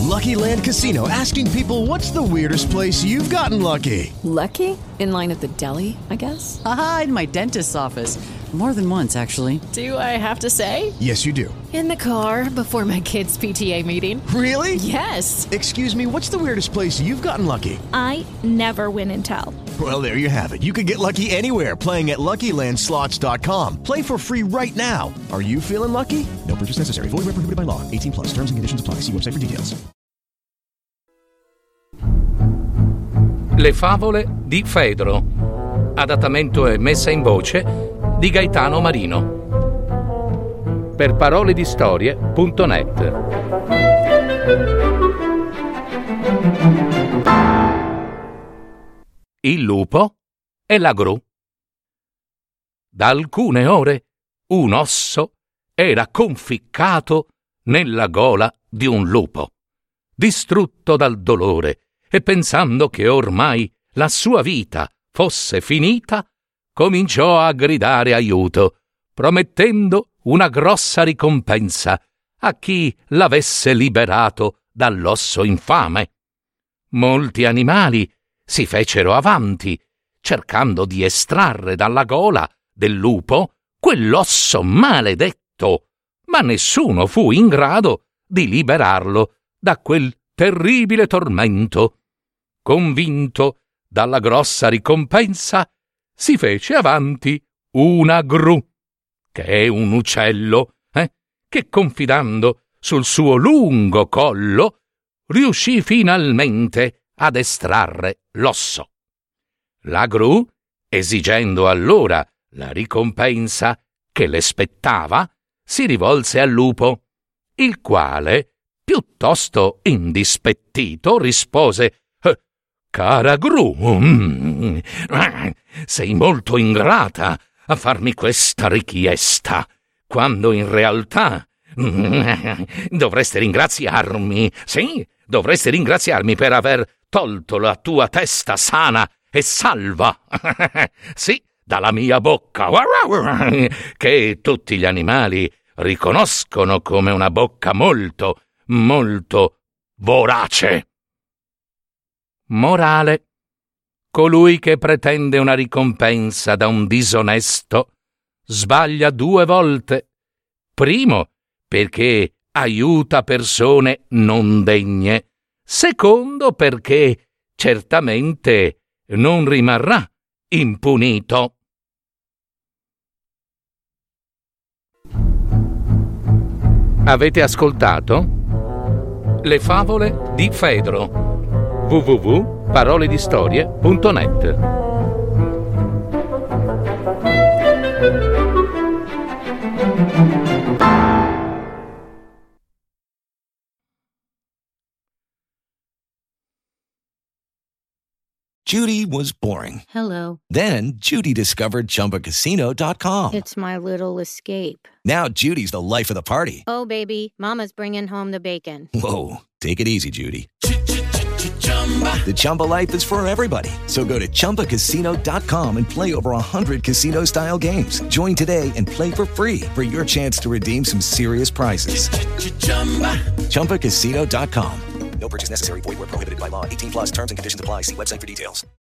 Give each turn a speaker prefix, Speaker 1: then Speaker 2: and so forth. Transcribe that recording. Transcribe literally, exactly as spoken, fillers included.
Speaker 1: Lucky Land Casino, asking people, what's the weirdest place you've gotten lucky?
Speaker 2: Lucky? In line at the deli, I guess?
Speaker 3: Aha, in my dentist's office. More than once, actually.
Speaker 2: Do I have to say?
Speaker 1: Yes, you do.
Speaker 2: In the car before my kids' P T A meeting.
Speaker 1: Really?
Speaker 2: Yes.
Speaker 1: Excuse me, what's the weirdest place you've gotten lucky?
Speaker 4: I never win and tell.
Speaker 1: Well, there you have it. You can get lucky anywhere, playing at Lucky Land Slots dot com. Play for free right now. Are you feeling lucky? No purchase necessary. Void where prohibited by law. eighteen plus. Terms and conditions apply. See website for details.
Speaker 5: Le favole di Fedro. Adattamento e messa in voce di Gaetano Marino. Per parole di storie punto net. Il lupo e la gru. Da alcune ore un osso era conficcato nella gola di un lupo, distrutto dal dolore e pensando che ormai la sua vita fosse finita, cominciò a gridare aiuto, promettendo una grossa ricompensa a chi l'avesse liberato dall'osso infame. Molti animali si fecero avanti, cercando di estrarre dalla gola del lupo quell'osso maledetto, ma nessuno fu in grado di liberarlo da quel terribile tormento. Convinto dalla grossa ricompensa, si fece avanti una gru, che è un uccello, eh, che confidando sul suo lungo collo riuscì finalmente ad estrarre l'osso. La gru, esigendo allora la ricompensa che le spettava, si rivolse al lupo, il quale, piuttosto indispettito, rispose: «Cara gru, mm, sei molto ingrata a farmi questa richiesta, quando in realtà mm, dovresti ringraziarmi, sì, dovresti ringraziarmi per aver tolto la tua testa sana e salva, sì, dalla mia bocca, che tutti gli animali riconoscono come una bocca molto, molto vorace». Morale: colui che pretende una ricompensa da un disonesto sbaglia due volte. Primo, perché aiuta persone non degne. Secondo, perché certamente non rimarrà impunito. Avete ascoltato Le favole di Fedro. w w w punto parole di storie punto net.
Speaker 6: Judy was boring.
Speaker 4: Hello.
Speaker 6: Then Judy discovered Chumba Casino dot com.
Speaker 4: It's my little escape.
Speaker 6: Now Judy's the life of the party.
Speaker 4: Oh, baby, mama's bringing home the bacon.
Speaker 6: Whoa, take it easy, Judy. The Chumba life is for everybody. So go to Chumba Casino dot com and play over one hundred casino-style games. Join today and play for free for your chance to redeem some serious prizes. Chumba Casino dot com. No purchase necessary. Void where prohibited by law. eighteen plus terms and conditions apply. See website for details.